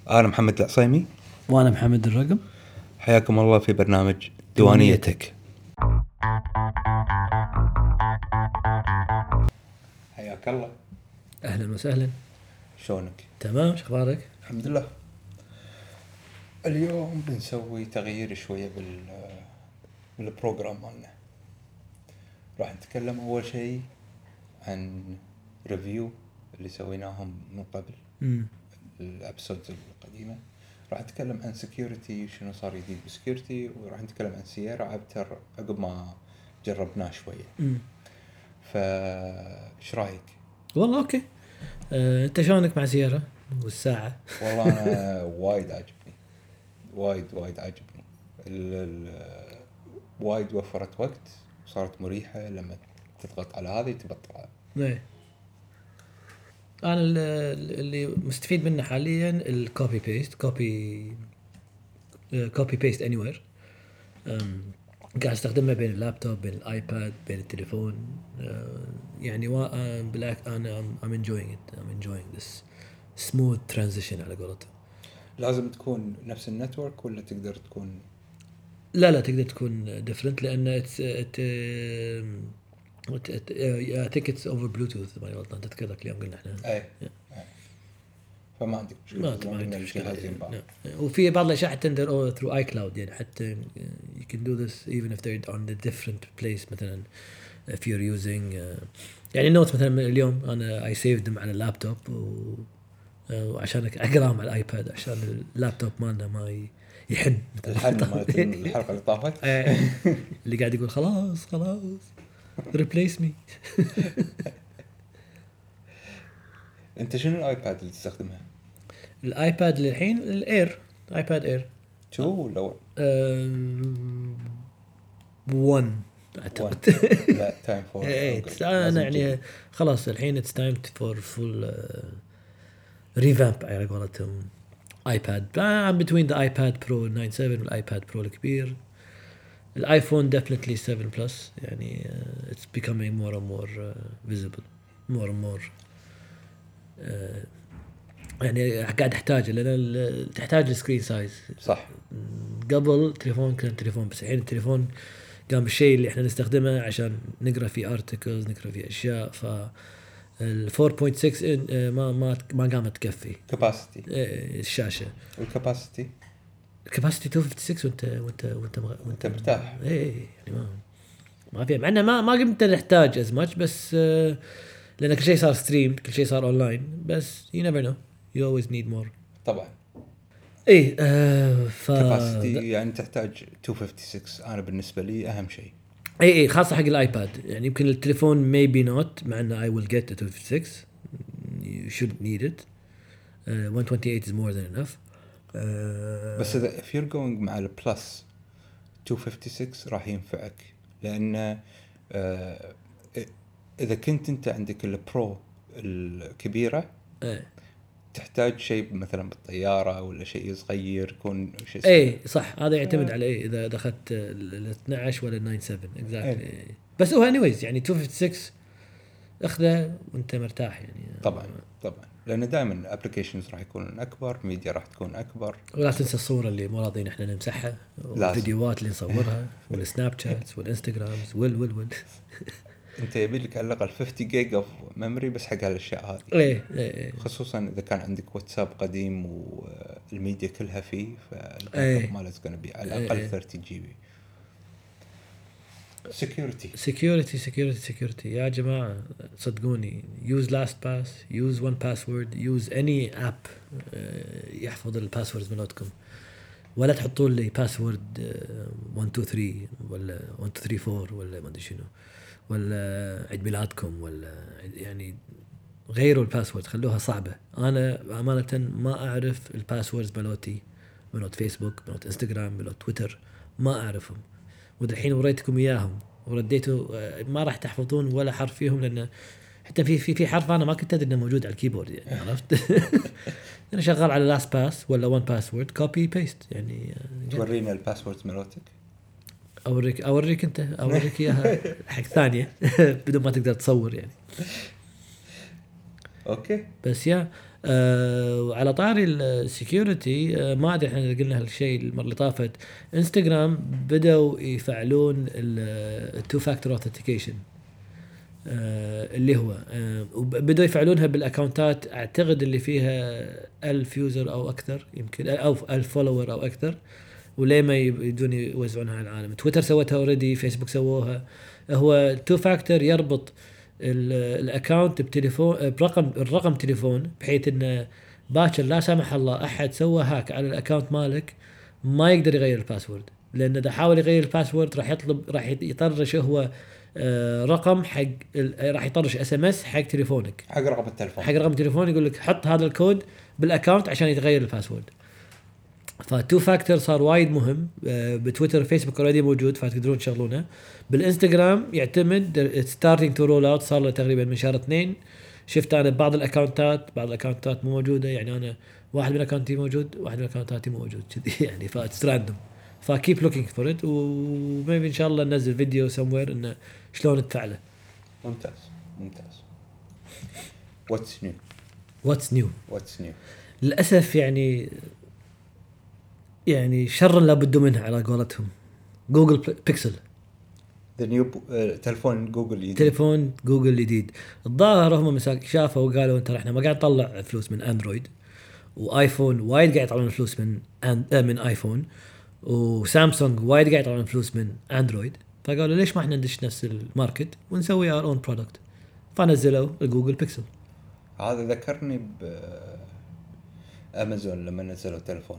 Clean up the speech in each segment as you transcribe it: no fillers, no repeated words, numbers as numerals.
أنا محمد العصيمي وأنا محمد الرقم. حياكم الله في برنامج ديوانيتك. حياك الله. أهلا وسهلا. شلونك؟ تمام، شخبارك؟ الحمد لله. اليوم بنسوي تغيير شوية بالبروجرام مالنا. راح نتكلم أول شيء عن ريفيو اللي سويناهم من قبل الابسودز القديمة. راح نتكلم عن سكيورتي، شنو صار جديد بسكيورتي، وراح نتكلم عن سيارة عبتر عقب ما جربناه شوية. فايش رايك؟ والله اوكي. انت شلونك مع سيارة والساعة؟ والله انا وايد عجبني، وايد عجبني. وايد وفرت وقت وصارت مريحة لما تضغط على هذه تبطلها. ايه، انا اللي مستفيد منه حاليا الكوبي بيست كوبي بيست اني وير. قاعد استخدمها بين اللابتوب، بين الايباد، بين التليفون. يعني بالعكس انا I'm enjoying this smooth transition على قولتهم. لازم تكون نفس النتورك ولا تقدر تكون؟ لا تقدر تكون different لأن I think it's over Bluetooth. ما غلطان تذكرك اليوم قلنا احنا. اي فما عندك مشكلة. ما عندك مشكلة. وفي بعض الأشياء حتى تقدر through iCloud، يعني حتى you can do this even if they're on the different place. مثلا if you're using يعني نوت مثلا اليوم أنا I saved them على اللابتوب وعشان أقراهم على الآيباد عشان اللابتوب مالنا ما يحن. الحن مالت الحلقة اللي طافت اللي قاعد يقول خلاص replace me. انت شنو الايباد اللي تستخدمها؟ الايباد للحين الاير، ايباد اير 2 ولا 1 اعتقد. لا تايم فور. انا يعني خلاص الحين it's time for full revamp على قولتهم. ايباد I'm between the iPad Pro 9/7 والايباد برو الكبير. الايفون definitely 7 plus يعني it's becoming more and more visible more and more. يعني قاعد احتاج لان تحتاج السكرين سايز صح. قبل تليفون كان تليفون بس الحين التليفون قام بالشيء اللي احنا نستخدمه عشان نقرا فيه ارتكلز، نقرا فيه اشياء. ف ال 4.6 ما قامت تكفي كاباسيتي الشاشه. والكاباسيتي 256 وانت مرتاح. يعني ما في معناه ما قمت نحتاج از ماتش، بس لان كل شيء صار ستريم، كل شيء صار اونلاين. بس you never know, you always need more. طبعا ايه كاباسيتي يعني تحتاج 256. انا بالنسبه لي اهم شيء. ايه خاصه حق الايباد. يعني يمكن التليفون maybe not، مع انه I will get to 256. you shouldn't need it. 128 is more than enough. بس if you're going مع البلس 256 راح ينفعك، لان اذا كنت انت عندك البرو الكبيره تحتاج شيء مثلا بالطياره ولا شيء صغير يكون شيء اي صح. هذا يعتمد على اذا اخذت ال 12 ولا ال 97 exactly. بس هو anyways يعني 256 اخذه وانت مرتاح يعني. طبعا لان دائما الابلكيشنز راح يكون اكبر، ميديا راح تكون اكبر. ولا تنسى الصوره اللي مو راضيين احنا نمسحها، والفيديوهات اللي نصورها، والسناب شاتس والانستغرامز وال انت يبي لك على الاقل 50 جيجا اوف ميموري بس حق هالاشياء هذه. ايه خصوصا اذا كان عندك واتساب قديم والميديا كلها فيه، فالباك اب مالك كان بي على الاقل 30 جي بي. security يا جماعه صدقوني. use LastPass, use 1Password, use any app يحفظ الباسوردز مالتكم. ولا تحطوا لي باسورد 123 ولا 1234 ولا ما ادري شنو، ولا عيد ميلادكم، ولا يعني غيروا الباسورد، خلوها صعبه. انا امانه ما اعرف الباسوردز مالتي، مالت فيسبوك، مالت انستغرام، مالت تويتر، ما اعرفهم. والحين وريتكم اياهم ورديتوا ما راح تحفظون ولا حرف فيهم، لان حتى في حرف انا ما كنت ادري انه موجود على الكيبورد يعني. عرفت؟ انا شغال على لاست باس ولا 1 باسورد كوبي بيست يعني. تورينا الباسوردز مالتك؟ اوريك انت، اوريك اياها حق ثانيه بدون ما تقدر تصور يعني. اوكي. بس يا وعلى طاري السكيورتي، ما ادري احنا قلنا هالشيء المره اللي طافت. انستغرام بدأوا يفعلون التو فاكتور اوثنتيكيشن، اللي هو بدأوا يفعلونها بالاكونتات اعتقد اللي فيها 1000 يوزر او اكثر، يمكن او 1000 فولور او اكثر، وليه ما يبدون يوزعونها على العالم. تويتر سوتها اوريدي، فيسبوك سووها. هو تو فاكتور يربط الاكونت بتليفون، الرقم تليفون، بحيث انه باكر لا سمح الله احد سوى هاك على الاكونت مالك ما يقدر يغير الباسورد، لان اذا حاول يغير الباسورد راح يطرش هو رقم حق، راح يطرش اس ام اس حق تليفونك، حق رقم التليفون، حق رقم التليفون، يقول لك حط هذا الكود بالاكونت عشان يتغير الباسورد. فتو فاكتور صار وايد مهم. بتويتر فيسبوك اوريدي موجود فتقدرون تشغلونه. بالانستغرام يعتمد ستارتنج تو رول اوت، صار له تقريبا من شهر 2. شفت انا بعض الاكونتات مو موجوده، يعني انا واحد من الاكونتي موجود، واحد من الاكونتاتي مو موجود كذي يعني، فاتس راندوم. فكيب لوكينج فور ات، وميبي ان شاء الله ننزل فيديو سموير انه شلون تفعله. ممتاز. واتس نيو للاسف يعني شر لا بد منها على قولتهم. جوجل بيكسل، ذا نيو تلفون جوجل الجديد. الظاهر هم شافوا وقالوا انت احنا ما قاعد نطلع فلوس من اندرويد وايفون، وايد قاعد يطلعون فلوس من ايفون، وسامسونج وايد قاعد يطلعون فلوس من اندرويد، فقالوا ليش ما احنا ندش نفس الماركت ونسوي اور اون برودكت، فنزلوا الجوجل بيكسل. هذا ذكرني بامازون لما نزلوا تلفون.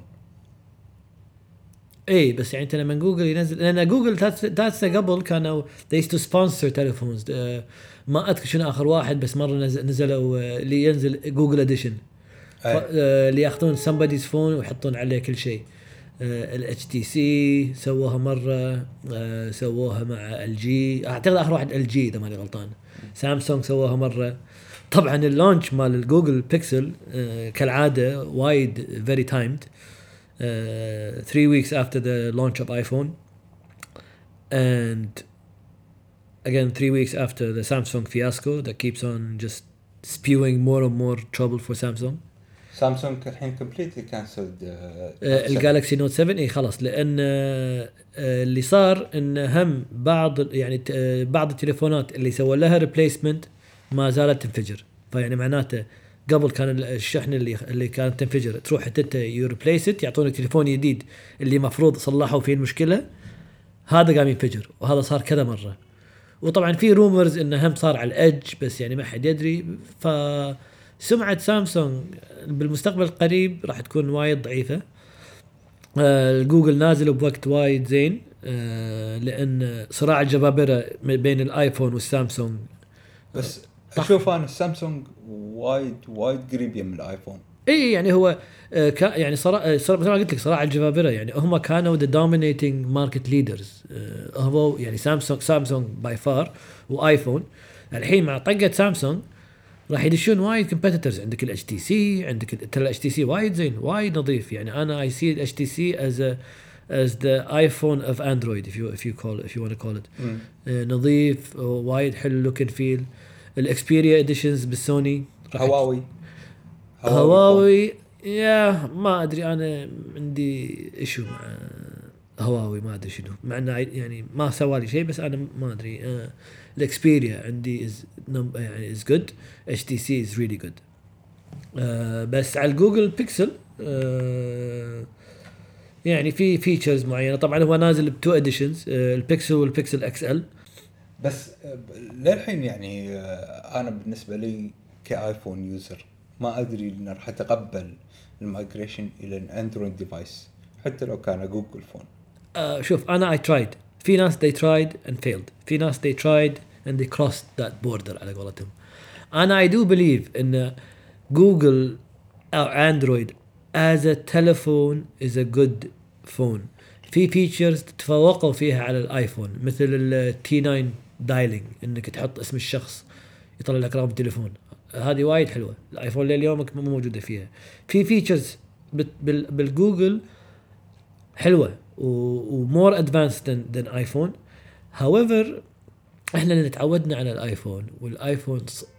اي بس يعني انت لما جوجل ينزل، لان جوجل ذاتس قبل كانوا they used to sponsor telephones. ما اذكر شنو اخر واحد، بس مره نزلوا اللي ينزل جوجل اديشن، اللي ياخذون somebody's phone ويحطون عليه كل شيء. الاتش تي سي سووها مره، سووها مع ال جي، اعتقد اخر واحد ال جي اذا ماني غلطان. سامسونج سووها مره. طبعا اللونش مال الجوجل بيكسل كالعاده وايد very timed. 3 weeks after the launch of iPhone, and again 3 weeks after the Samsung fiasco that keeps on just spewing more and more trouble for Samsung. سامسونج الحين completely cancelled الجالكسي نوت 7. اي خلاص، لان اللي صار ان هم بعض التليفونات اللي سووا لها ريبليسمنت ما زالت تنفجر. فيعني معناته قبل كان الشحن اللي كانت تنفجر تروح انت يريبليس، يعطونك تليفون جديد اللي مفروض صلحوا فيه المشكله، هذا قام ينفجر، وهذا صار كذا مره. وطبعا في رومرز انه هم صار على الادج، بس يعني ما حد يدري. فسمعه سامسونج بالمستقبل القريب راح تكون وايد ضعيفه. جوجل نازل بوقت وايد زين، لان صراع الجبابره بين الايفون والسامسونج. بس اشوف انا السامسونج وايد قريب من الايفون. اي يعني هو يعني صراع زي ما قلت لك صراع الجبابره، يعني هم كانوا the dominating market leaders. هو يعني سامسونج باي فار وايفون. الحين مع طقه سامسونج راح يدشون وايد competitors. عندك الاتش تي سي، عندك الاتش تي سي وايد زين، وايد نظيف. يعني انا اي سي الاتش تي سي as the iPhone of Android if you want to call it. نظيف وايد حلو look and feel. الاكسبيريا اديشنز بالسوني. هواوي يا ما ادري، انا عندي ايشو مع هواوي، ما ادري شنو، مع انه يعني ما سوى لي شيء، بس انا ما ادري. الاكسبيريا عندي يعني is good. HTC is really good. بس على الجوجل بيكسل يعني في فيتشرز معينه. طبعا هو نازل بتو اديشنز، البيكسل والبيكسل اكس ال. بس للحين يعني انا بالنسبه لي كايفون يوزر ما ادري ان راح اتقبل المايجريشن الى الاندرويد ديفايس حتى لو كان جوجل فون. شوف انا I tried. في ناس they tried and failed. في ناس they tried and they crossed that border على قولتهم. انا I do believe ان جوجل او اندرويد as a telephone is a good phone. في فيتشرز تفوقوا فيها على الايفون، مثل التي 9 دايلينج، انك تحط اسم الشخص يطلع لك رقم التليفون. هذه وايد حلوه، الايفون لليومك مو موجوده فيها. في فيتشرز بالجوجل حلوه ومور ادفانسد ذان ايفون. هاويفر احنا اللي تعودنا على الايفون، والايفون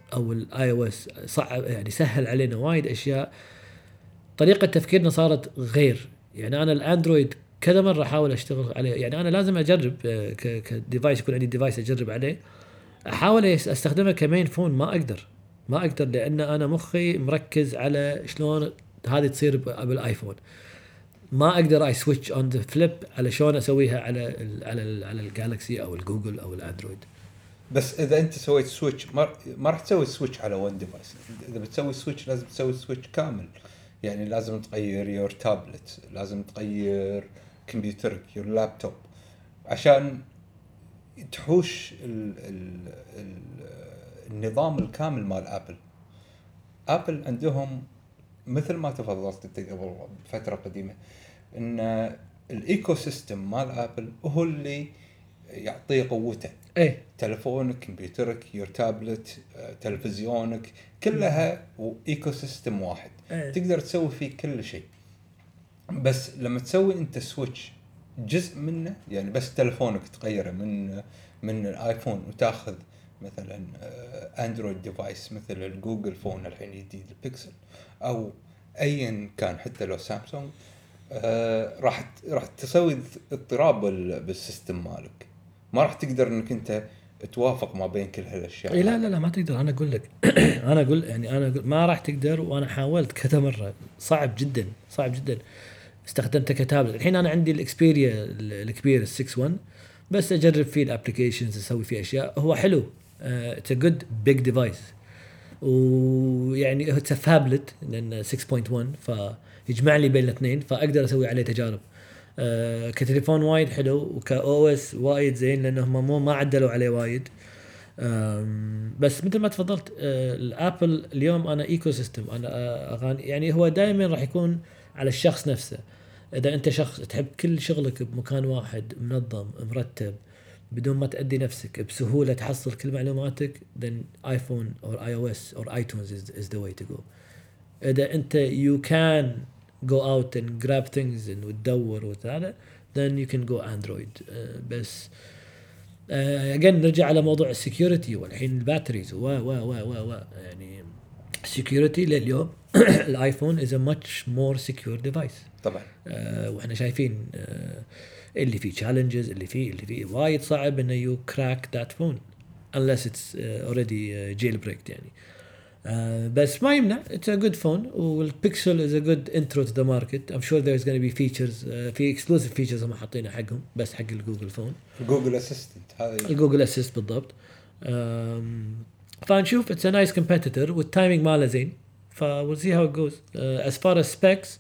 او الاي او اس صعب يعني سهل علينا وايد اشياء. طريقه تفكيرنا صارت غير. يعني انا الاندرويد كذا مره احاول اشتغل عليه، يعني انا لازم اجرب كديفايس، يكون عندي ديفايس اجرب عليه، احاول استخدمه كمين فون. ما اقدر لان انا مخي مركز على شلون هذه تصير بالايفون. ما اقدر اي سويتش اون ذا فليب على شلون اسويها على الجالكسي او الجوجل او الاندرويد. بس اذا انت سويت سويتش ما راح تسوي سويتش على ون ديفايس. اذا بتسوي سويتش لازم تسوي سويتش كامل. يعني لازم تغير يور تابلت، لازم تغير كمبيوترك، يور لابتوب، عشان تحوش ال النظام الكامل مال ابل. ابل عندهم مثل ما تفضلت انت قبل فتره قديمه ان الايكو سيستم مال ابل هو اللي يعطيه قوته. ايه تلفونك، كمبيوترك، يور تابلت، تلفزيونك، كلها ايكو سيستم واحد. أيه. تقدر تسوي فيه كل شيء. بس لما تسوي انت سويتش جزء منه، يعني بس تلفونك تغيره من الايفون وتاخذ مثلا اندرويد ديفايس مثل الجوجل فون الحين الجديد البيكسل او ايا كان حتى لو سامسونج، راح تسوي اضطراب بالسيستم مالك. ما راح تقدر انك انت توافق ما بين كل هالاشياء. إيه لا ما تقدر. انا اقول لك انا اقول ما راح تقدر. وانا حاولت كذا مره، صعب جدا. استخدمته كتابلت. الحين انا عندي الاكسبيريا الكبير ال6 1، بس اجرب فيه الابلكيشنز، اسوي فيه اشياء. هو حلو، اتس ا جود بيج ديفايس. ويعني اتس فابلت لان 6.1 فيجمع لي بين الاثنين، فاقدر اسوي عليه تجارب. كتليفون وايد حلو، وكاو اس وايد زين لانهم ما عدلوا عليه وايد. بس مثل ما تفضلت، الابل اليوم انا ايكو سيستم. انا اغاني يعني هو دائما راح يكون على الشخص نفسه. اذا انت شخص تحب كل شغلك بمكان واحد منظم مرتب بدون ما تأدي نفسك بسهولة تحصل كل معلوماتك، then iPhone or iOS or iTunes is the way to go. إذا أنت you can go out and grab things and وتدور وهذا then you can go Android. بس again نرجع على موضوع السكيورتي والحين الباتريز و يعني security لليوم الايفون is a much more secure device طبعا. واحنا شايفين اللي فيه challenges، اللي فيه وايد صعب انه you crack that phone unless it's already jailbreaked يعني. بس ما يمنع it's a good phone. والبيكسل is a good intro to the market. I'm sure there's going to be features في exclusive features هم حاطينها حقهم بس حق الجوجل فون. جوجل اسيستنت هذا الجوجل اسيست بالضبط. فنشوف it's a nice competitor والتايمينج ماله زين. we'll see how it goes. As far as specs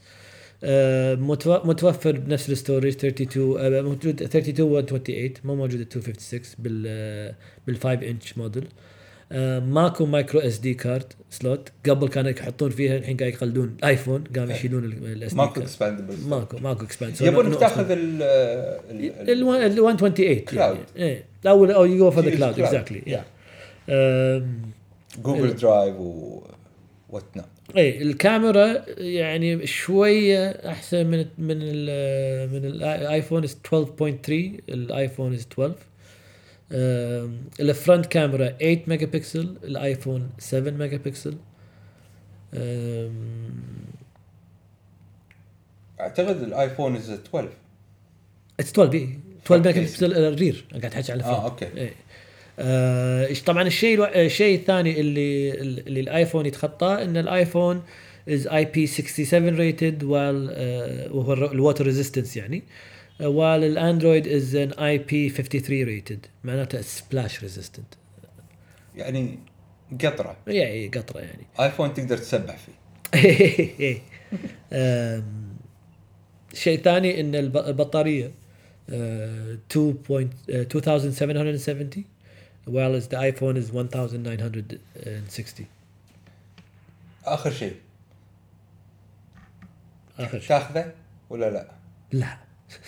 متوفر بنفس الستوريج 32 موجود 32 و 28 مو موجود 256 بال 5 انش موديل. ماكو مايكرو اس دي كارد سلوت. قبل كانوا يحطون فيها، الحين قاعد يقلدون ايفون قاموا يشيلون الاس دي. ماكو اكسباندبل. ماكو اكسباند. يبون تاخذ ال 128 كلاود يعني. او يو جو فور ذا كلاود اكزاكتلي. جوجل درايف و وات نوت. اي الكاميرا يعني شويه احسن من الايفون 12.3. الايفون 12. الفرونت كاميرا 8 ميجا بكسل، الايفون 7 ميجا بكسل. اعتقد الايفون 12 اتس 12 بي 12 ميجا بكسل الرير. انا قاعد احكي على الفرونت. اوكي. طبعا الشيء الثاني اللي الايفون يتخطاه ان الايفون is IP67 rated وهو الواتر ريزيستنس يعني، while الاندرويد is an IP53 rated معناته splash resistant يعني قطره. يعني قطره يعني. ايفون تقدر تسبح فيه. شيء ثاني ان البطاريه 2770 while the iPhone is 1960. اخر شيء تاخذه ولا لا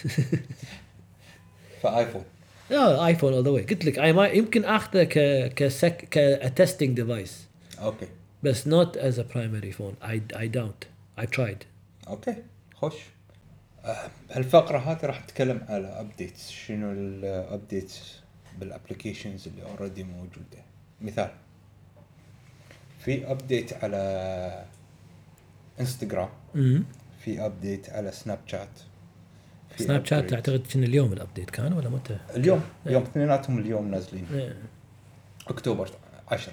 فايفون ايفون all the way. قلت لك يمكن اخذه كتستنج ديفايس. اوكي. بس not as a primary phone. I doubt. I tried. اوكي خوش. الفقرة هذه راح نتكلم على ابديتس. شنو الابديتس بالابليكيشنز اللي اوريدي موجودة. مثال في ابديت على انستغرام، في ابديت على سناب شات. سناب شات اعتقد ان اليوم الابديت كان ولا متى؟ اليوم يوم اثنيناتهم اليوم نازلين. اكتوبر 10.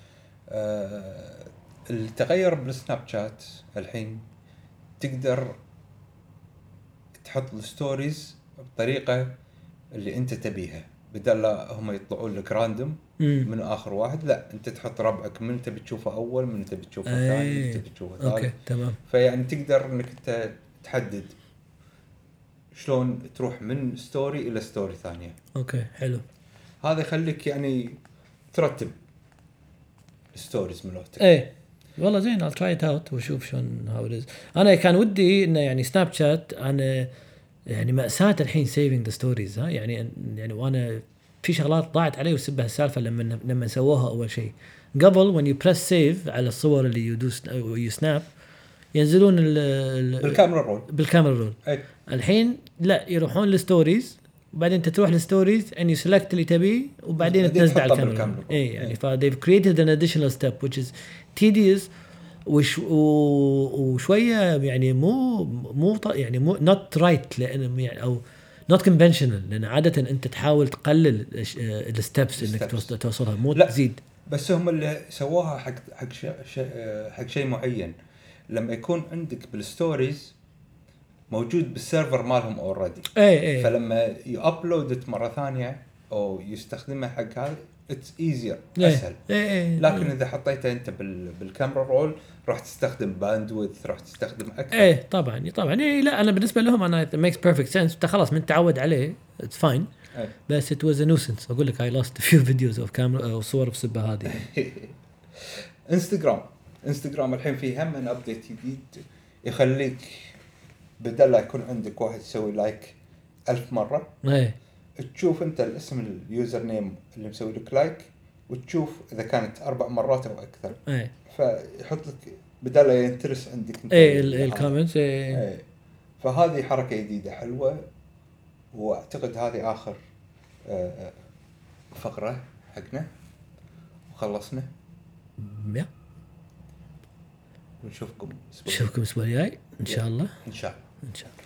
التغير بالسناب شات الحين تقدر تحط الستوريز بطريقة اللي انت تبيها، بدل لا هم يطلعون لك راندوم من اخر واحد، لا انت تحط ربعك من انت بتشوفه اول، من انت بتشوفه ثاني، من انت بتشوفه ثالث. اوكي تمام. فيعني تقدر انك انت تحدد شلون تروح من ستوري الى ستوري ثانية. اوكي حلو. هذا يخليك يعني ترتب ستوريز ملوتك. ايه والله زين. I'll try it out وشوف شلون how it is. انا كان ودي انه يعني سناب شات انا يعني مأساة الحين saving the stories. ها يعني وانا في شغلات ضاعت علي وسبها السالفة لما سووها اول شيء. قبل when you press save على الصور اللي يدوس يسناب ينزلون بالكاميرا رول. الحين لا، يروحون للستوريز وبعدين انت تروح للستوريز and you select اللي تبيه وبعدين تنزل على الكاميرا. اي يعني they've created an additional step which is tedious وشويه يعني مو يعني مو not right لان يعني او not conventional، لان عاده انت تحاول تقلل الستبس انك توصلها مو تزيد. بس هم اللي سووها حق شيء معين. لما يكون عندك بالستوريز موجود بالسيرفر مالهم اوريدي، فلما يابلودت مره ثانيه او يستخدمها حق هذا اتس ايزير اسهل. لكن اذا حطيته انت بالكاميرا رول راح تستخدم باندويث، راح تستخدم اكثر. طبعا لا انا بالنسبه لهم انا it makes perfect sense. انت خلاص من تعود عليه اتس فاين. بس it was a nuisance. اقول لك I lost a few videos of camera او صور بسبه هذه. انستغرام الحين فيه هم ابديت جديد يخليك بدل لا يكون عندك واحد يسوي لايك 1000 مرة تشوف انت الاسم اليوزر نيم اللي مسوي لك لايك وتشوف اذا كانت 4 مرات او اكثر. فيحط لك بدل لا ينترس عندك انت الكومنتس. فهذه حركة جديدة حلوة، واعتقد هذه اخر فقرة حقنا وخلصنا. ونشوفكم الاسبوع الجاي ان شاء الله. ان شاء الله.